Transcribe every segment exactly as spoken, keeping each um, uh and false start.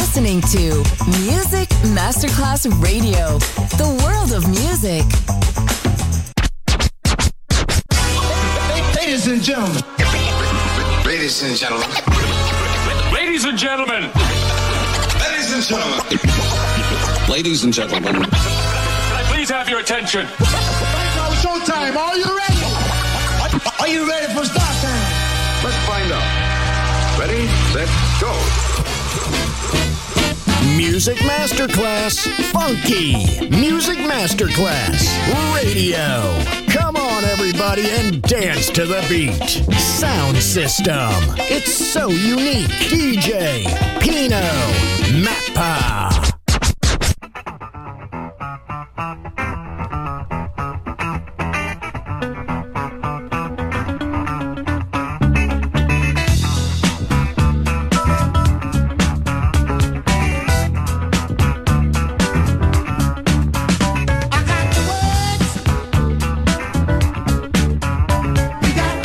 listening to Music Masterclass Radio, the world of music. Ladies and gentlemen. Ladies and gentlemen. Ladies and gentlemen. Ladies and gentlemen. Ladies and gentlemen. Can I please have your attention? Right now, showtime. Are you ready? Are you ready for start time? Let's find out. Ready, set, go. Music Masterclass Funky. Music Masterclass Radio. Come on, everybody, and dance to the beat. Sound system. It's so unique. D J Pino Mappa.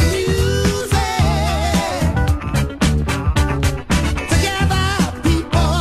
Together, people.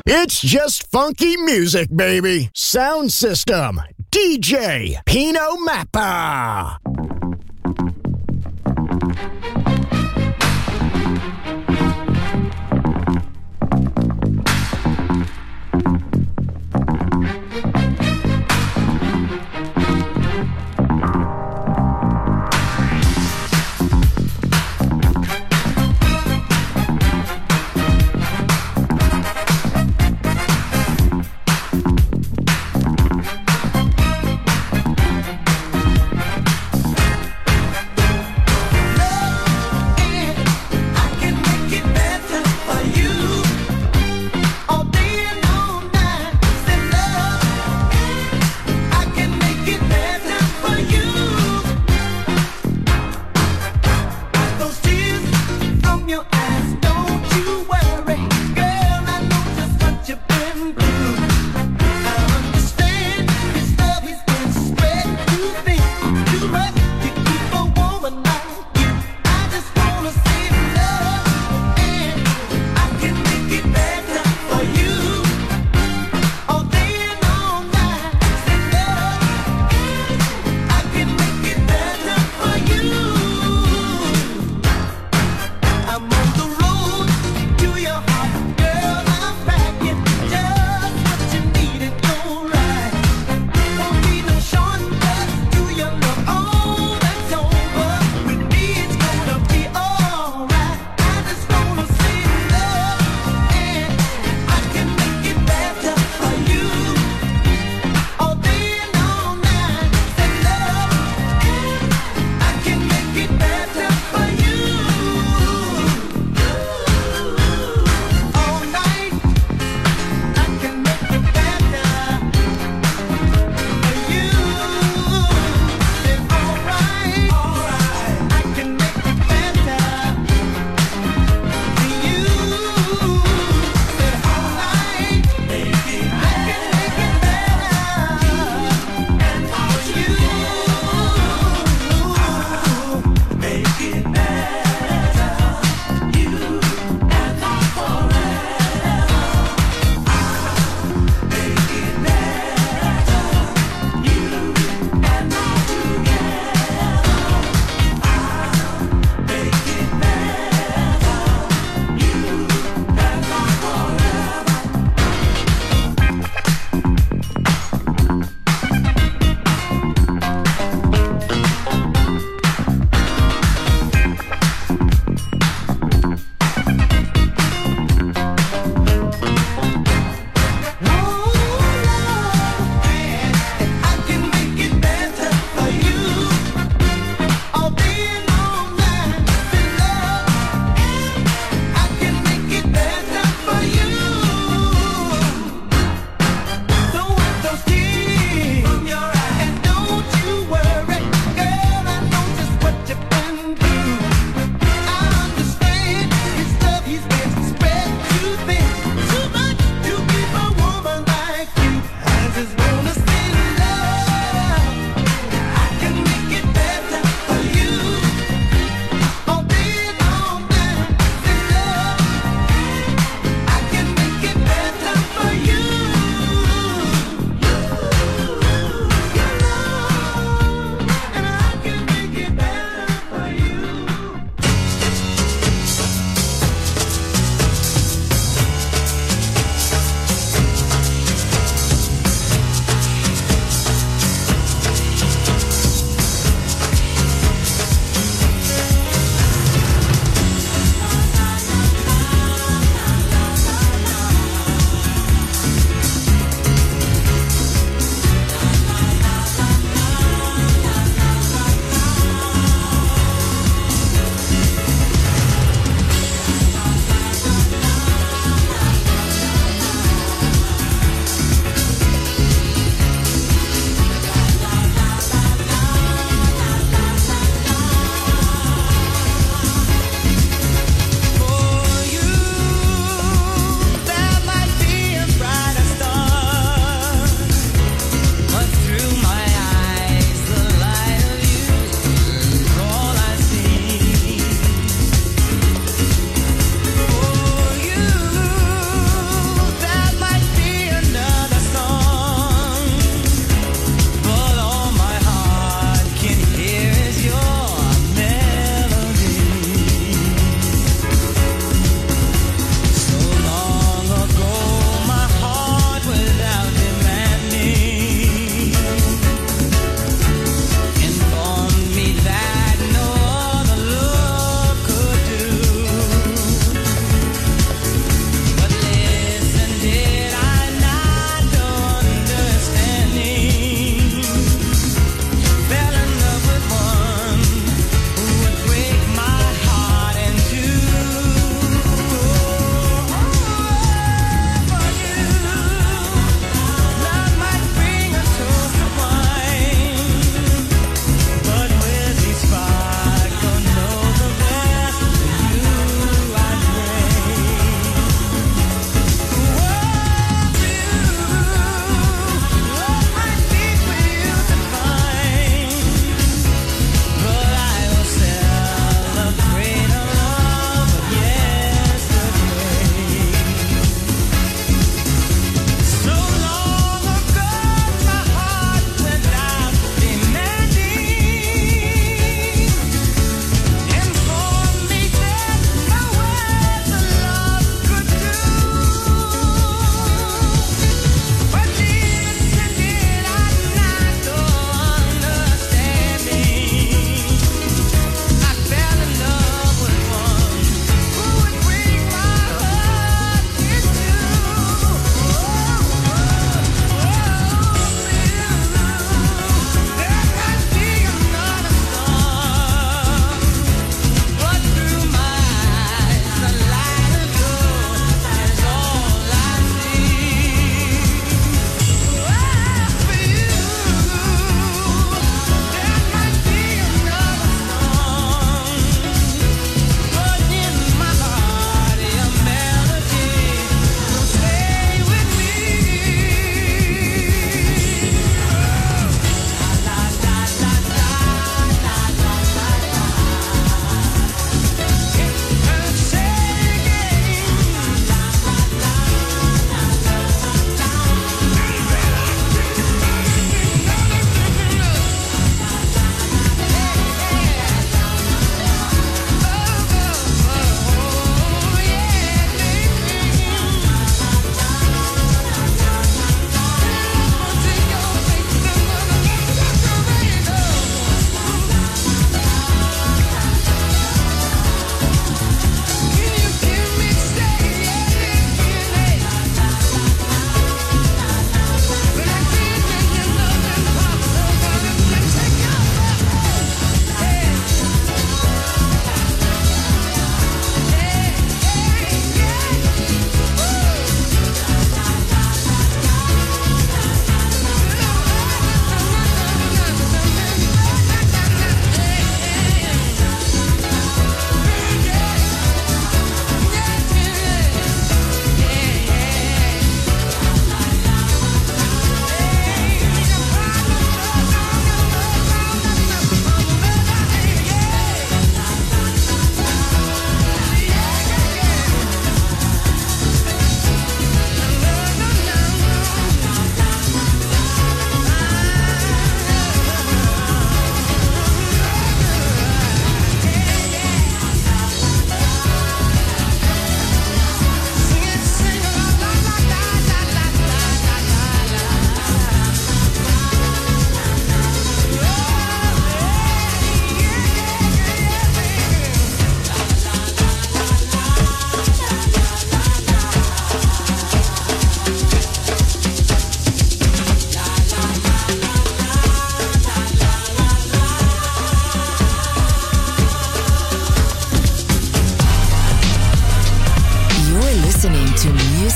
It's just funky music, baby. Sound system, D J Pino Mappa.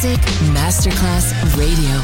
Music Masterclass Radio.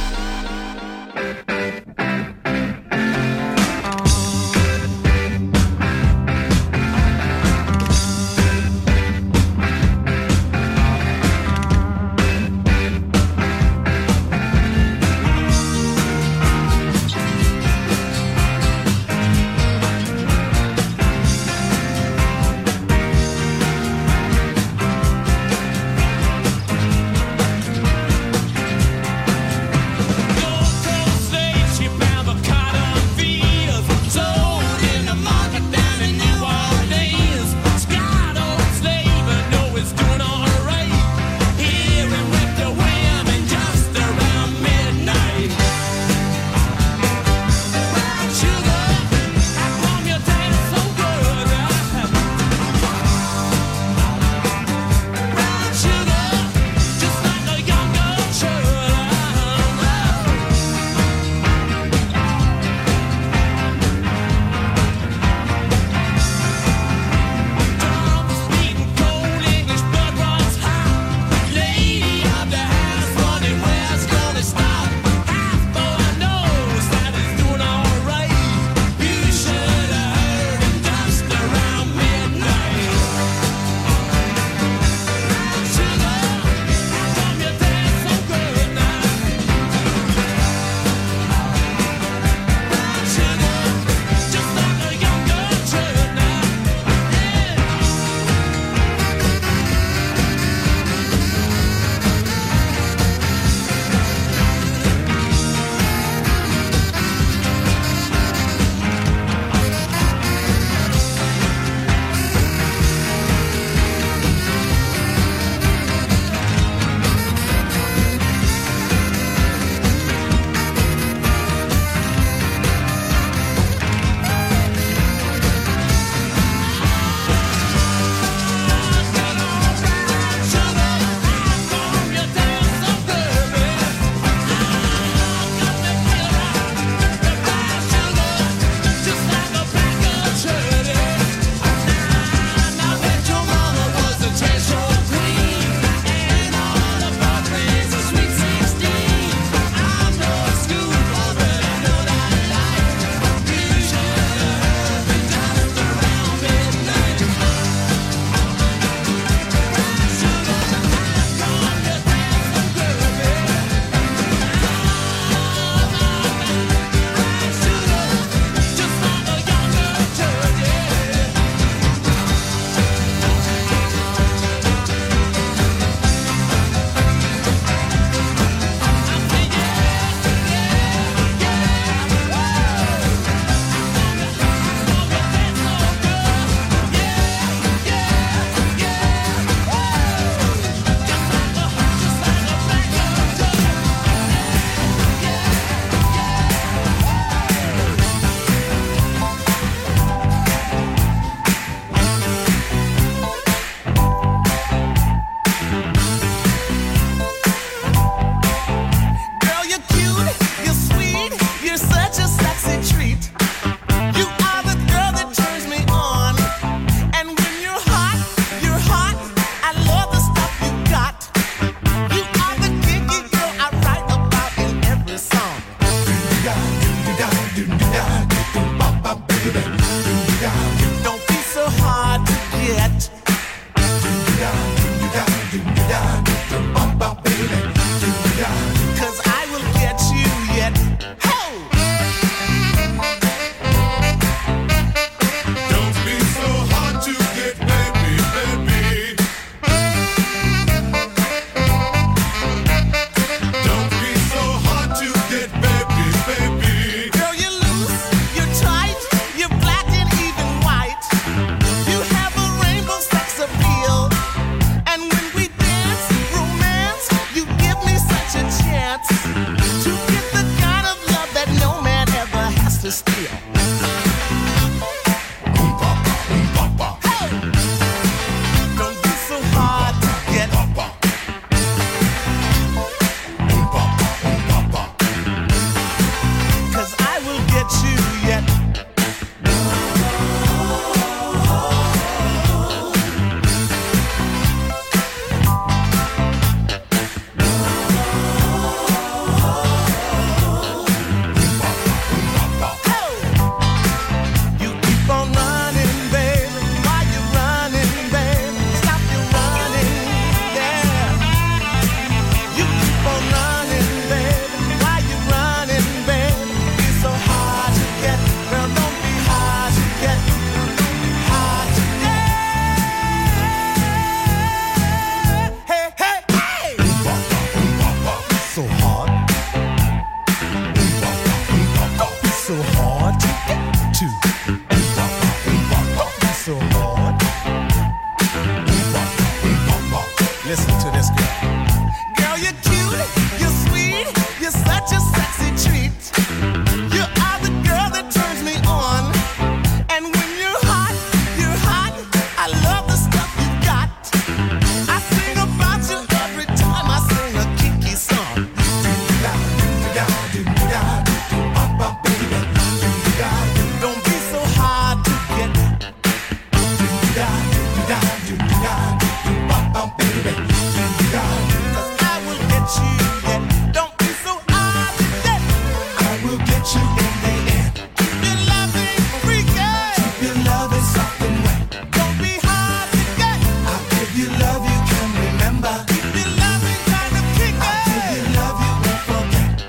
get you in the end. Your love ain't freaky. Your love is soft and wet. Don't be hard to get. I'll give you love you can remember. Your love ain't kind of kicky. I'll give you love you won't forget.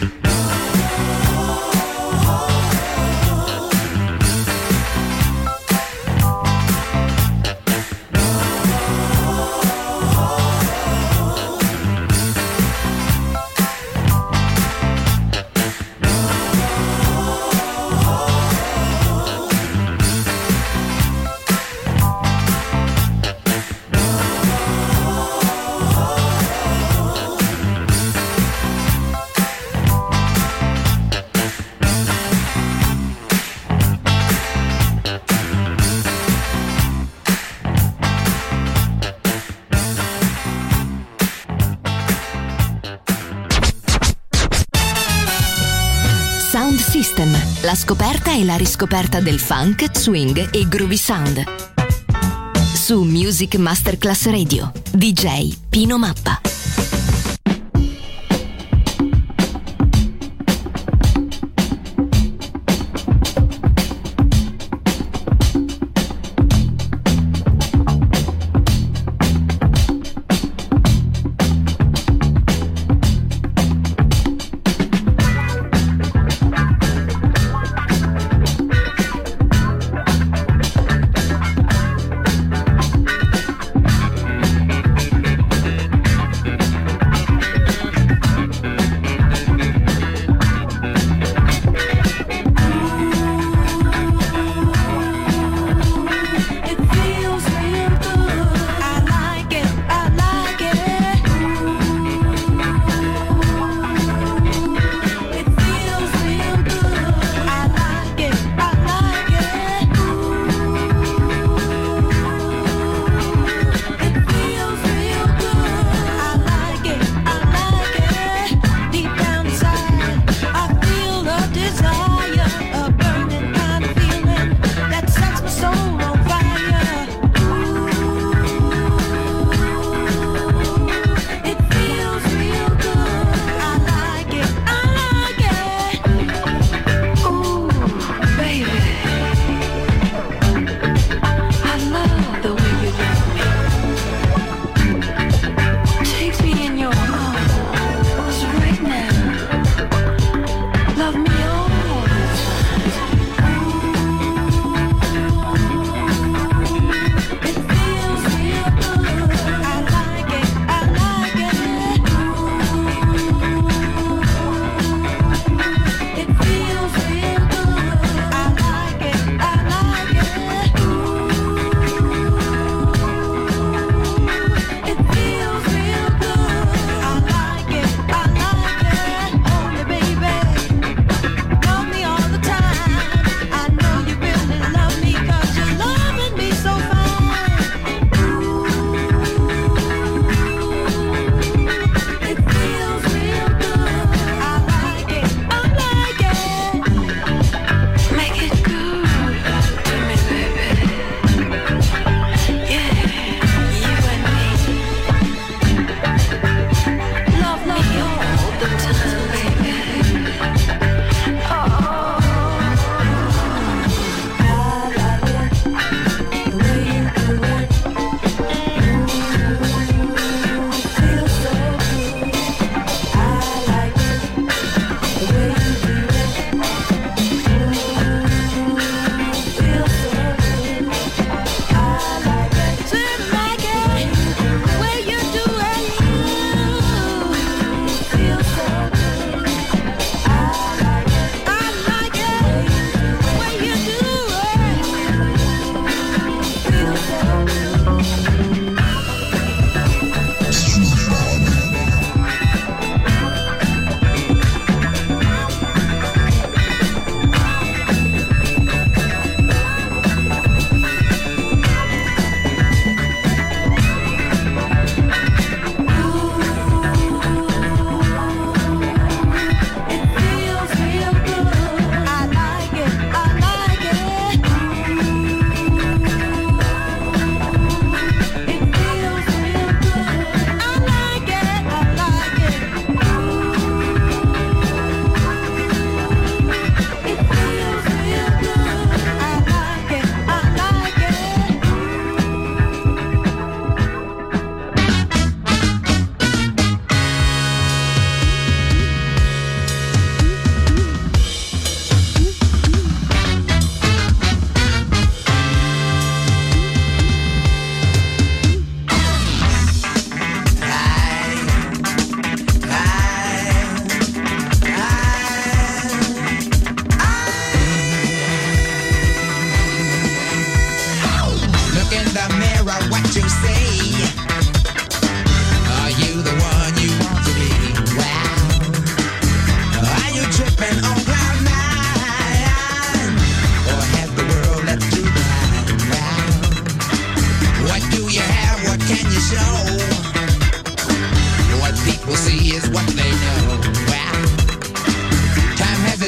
Sound System, la scoperta e la riscoperta del funk, swing e groovy sound. Su Music Masterclass Radio, D J Pino Mappa.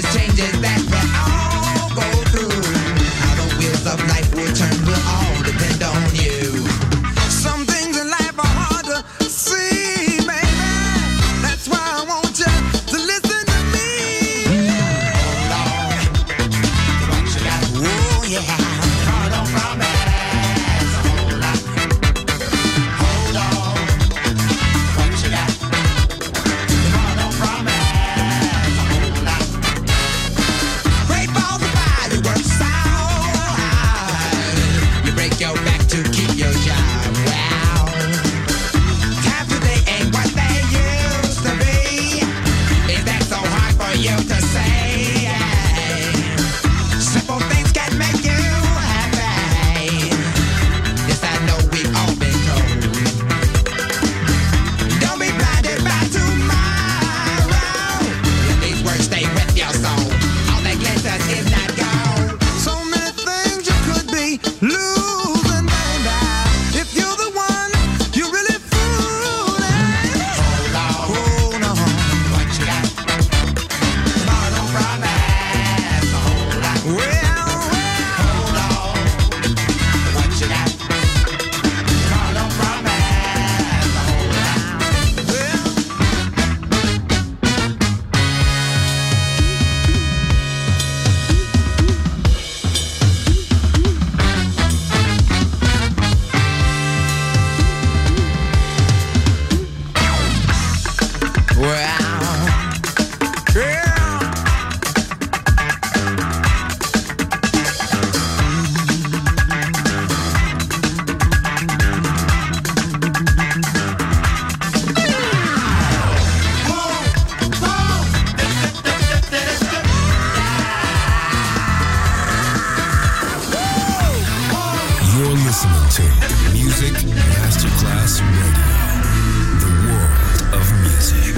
the changes that we all go through. How the wheels of life will turn will all depend on you. Some things in life are hard to see, baby. That's why I want you to listen to me. Hold on, what you got? Oh yeah, hold on from me. Hold on, hold on, what you got? Hold on from me. Hold on. Great balls of fire, you work so hard. You break your back to keep your job. Wow, times today ain't what they used to be. Is that so hard for you to say? Simple things can make you happy. Yes, I know we've all been told. Don't be blinded by tomorrow. These words stay with your soul. All that glitters is not gold. So many things you could be losing, baby. If you're the one, you're really fooling. Hold on, hold on, what you got? Hold on, promise. Hold on, well, well, hold on, what you got? Hold on, promise. Hold on, well. Well, yeah. You're listening to Music Masterclass Radio, the world of music.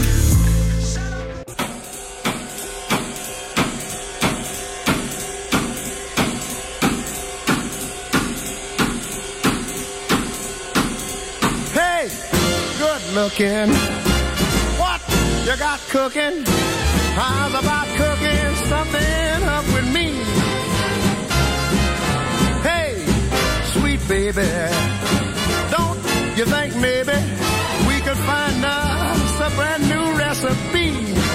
Hey, good looking. What you got cooking? How's about cooking something up with me? Hey, sweet baby, don't you think maybe we could find us a brand new recipe?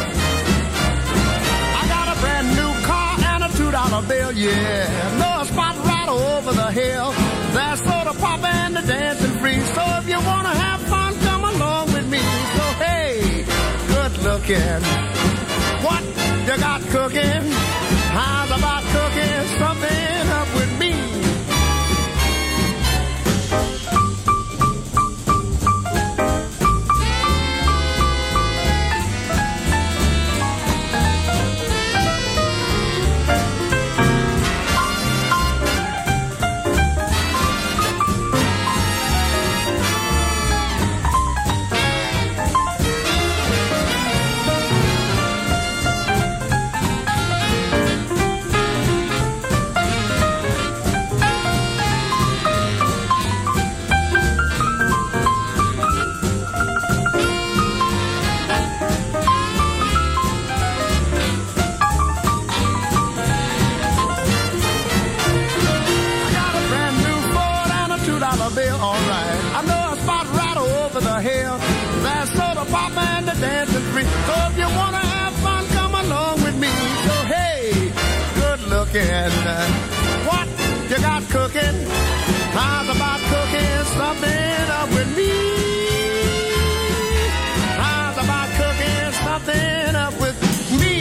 I got a brand new car and a two dollar bill, yeah. No spot right over the hill. That's soda pop and the dancing free. So if you wanna have fun, come along with me. So hey, good looking. What you got cooking? How's about cooking something up with me? Dancing free. So if you wanna have fun, come along with me. So hey, good looking. What you got cooking? How's about cooking something up with me? How's about cooking something up with me?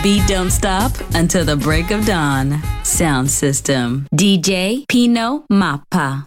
beat don't stop until the break of dawn. Sound System. D J Pino Mappa.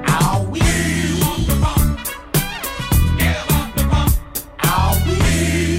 We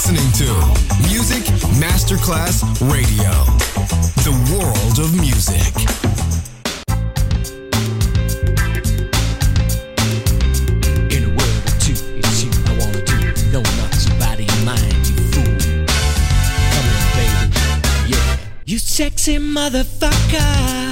listening to Music Masterclass Radio, the world of music. In a word or two, it's you I wanna do. No, not your body and mind, you fool. Come in, baby, yeah. You sexy motherfucker.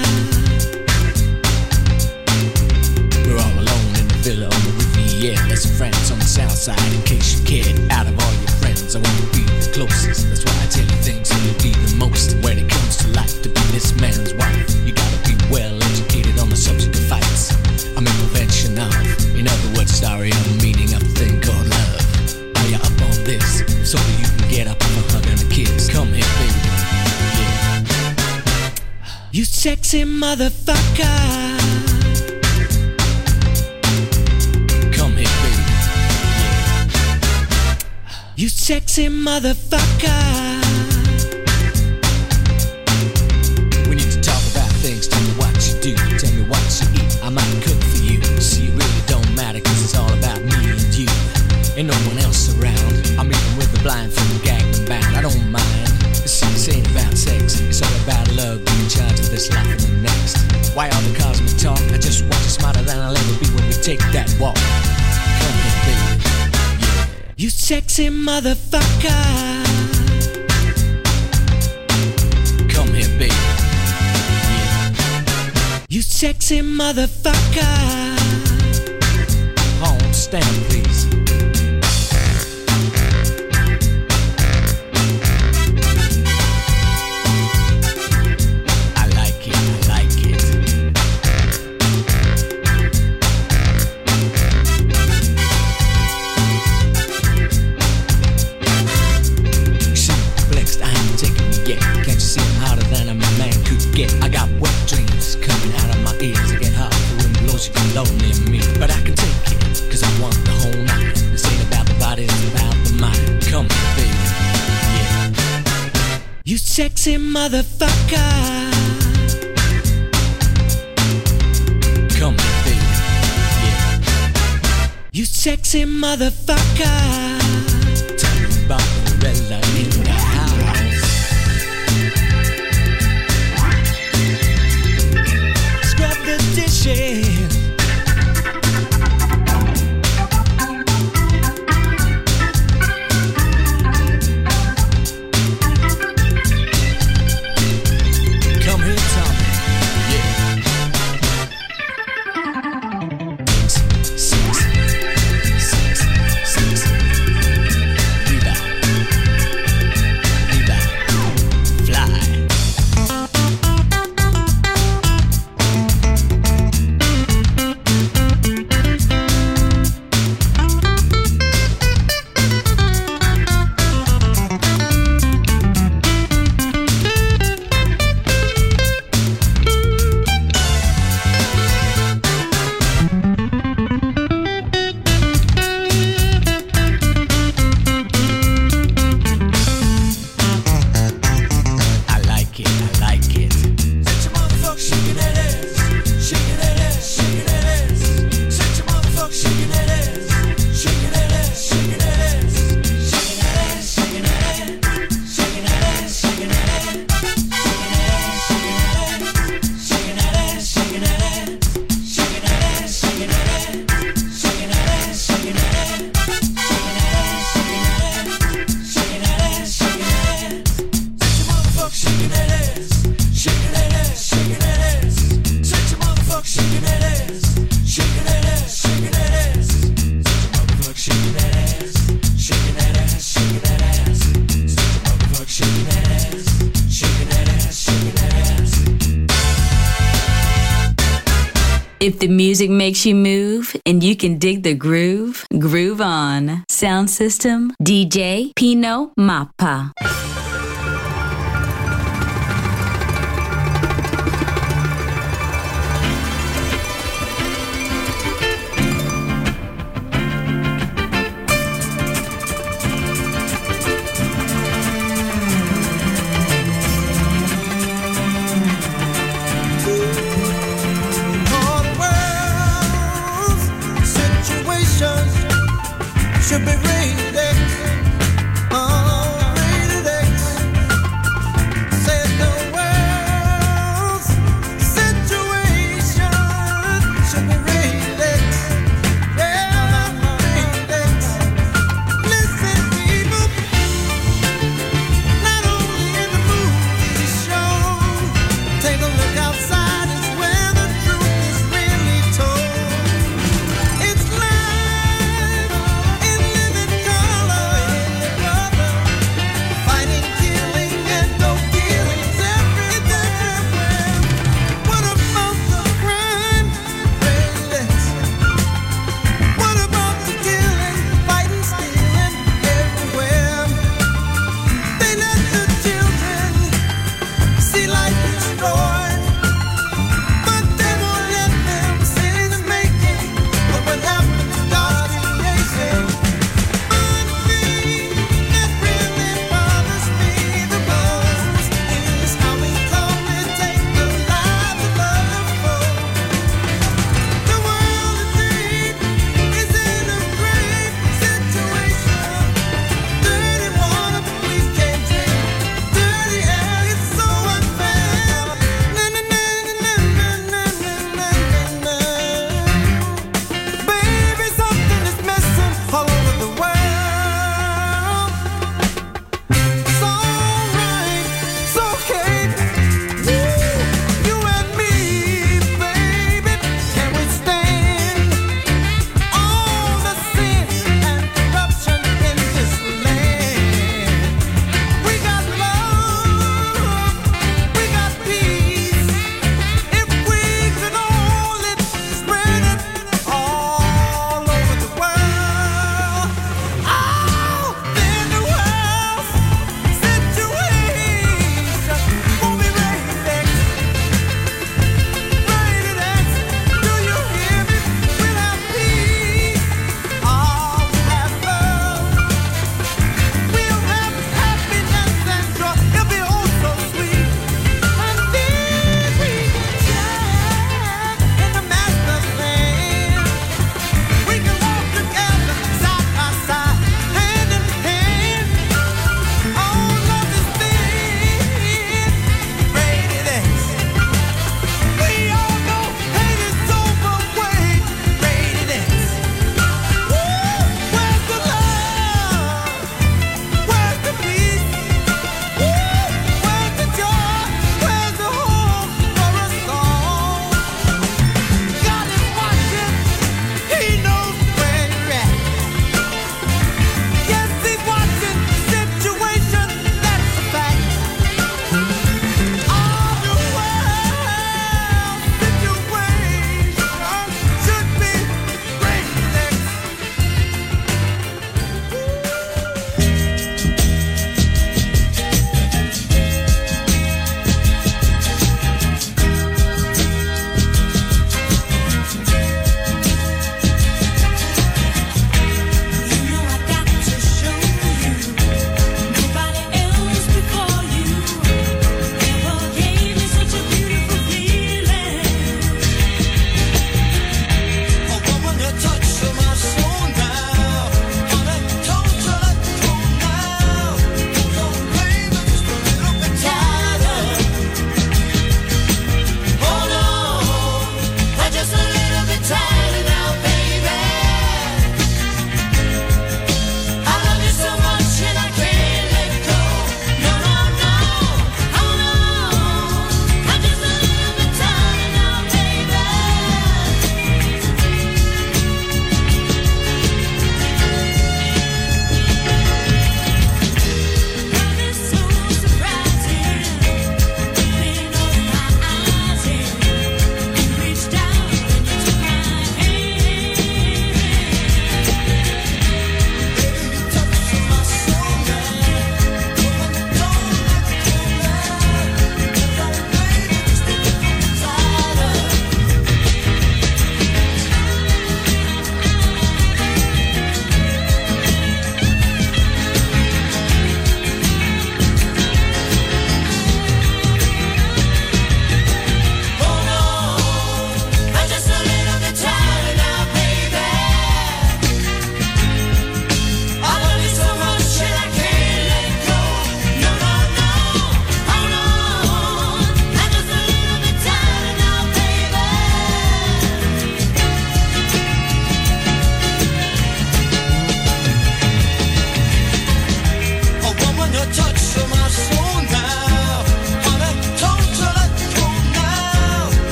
We're all alone in the villa on the Riviera. There's some friends on the south side in case you cared. Out of all your friends, I want to be the closest. That's why I tell you things so you'll be the most. When it comes to life, to be this man's wife, you gotta be well educated on the subject of fights. I'm in prevention of, in other words, sorry, I'm the meaning of a thing called love. Are you up on this? So that you can get up on a hug and a kiss. Come here, baby. Yeah. You sexy motherfucker. You sexy motherfucker. We need to talk about things. Tell me what you do. Tell me what you eat. I might cook for you. See, it really don't matter, cause it's all about me and you. Ain't no one else around. I'm even with the blindfold, gagged and bound. I don't mind. See, this ain't about sex. It's all about love, being in charge of this life and the next. Why all the cosmic talk? I just want you smarter than I'll ever be when we take that walk. Come here, baby. You sexy motherfucker. Come here, baby. Yeah. You sexy motherfucker. Home, stand up, please. I like it, I like it. Can't you see I'm hotter than a man could get? I got wet dreams coming out of my ears. I get hot, the wind blows, you can load near me. But I can take it, cause I want the whole night. This ain't about the body, it's about the mind. Come here, baby, yeah. You sexy motherfucker. Come here, baby, yeah. You sexy motherfucker. Tell me about Lorella in the house. The dishes. Come here, Tommy. Yeah. Six, six, six, six. Viva. Viva. Fly. If the music makes you move and you can dig the groove, groove on. Sound system, D J Pino Mappa. Should be ready. Oh.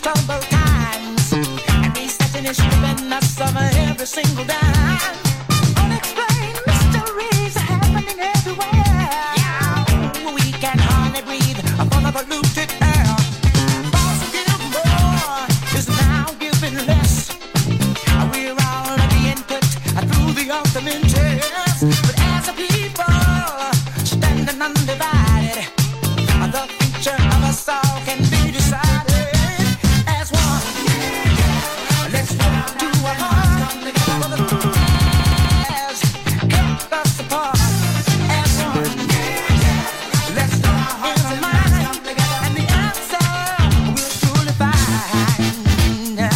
troubled times, and recession is stripping us of every single dime. Unexplained mysteries are happening everywhere. Yeah, we can hardly breathe upon a polluted air. Boss give more is now giving less. We're all being put through the ultimate test. But as a people standing undivided, the future of us all can be decided as one. Let's work to our heart, come together for the truth has kept us apart as one. Let's put our hearts and minds together, and the answer we'll surely find. Yeah,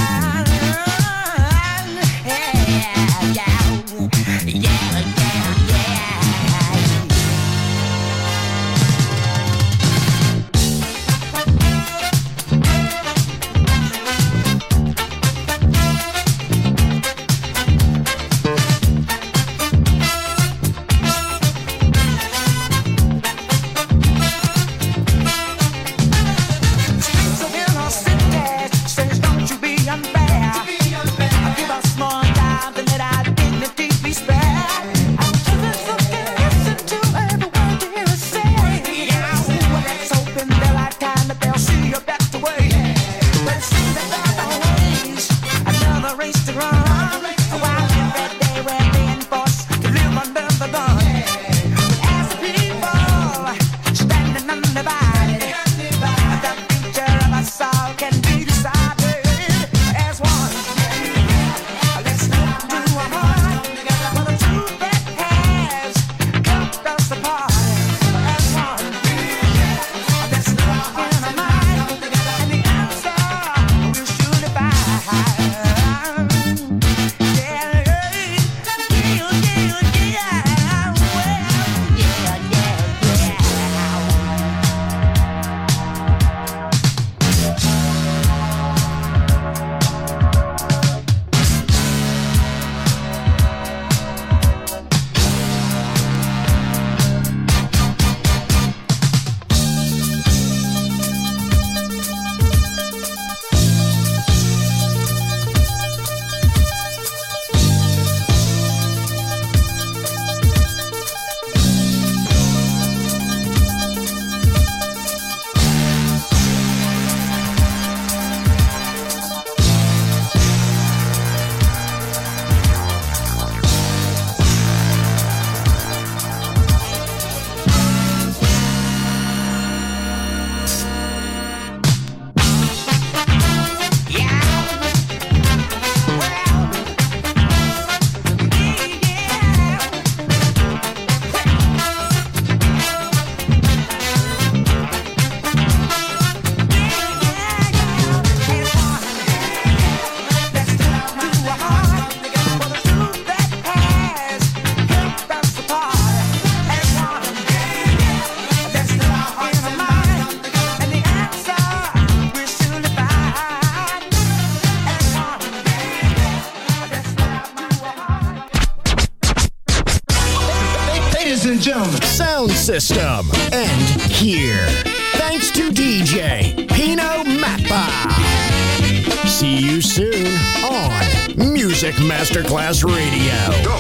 yeah, yeah, yeah, yeah. Streets of inner cities says don't you be unfair. Give us more time to let our dignity be spared. Our children can listen to every word you hear us say. Yeah, let's hope in their lifetime that they'll see a better way. But it seems that there's always another race to run. While every day we're being forced to live under the gun. But as a people standing undivided, the future of us all can be decided as one. Let's look to our heart for the truth that has kept us apart as one. Let's look in our mind, and the answer we'll surely find. Yeah, yeah, yeah, yeah, well, yeah, yeah, yeah. Ladies and gentlemen, sound system end here. Thanks to D J Pino Mappa. See you soon on Music Masterclass Radio. Go.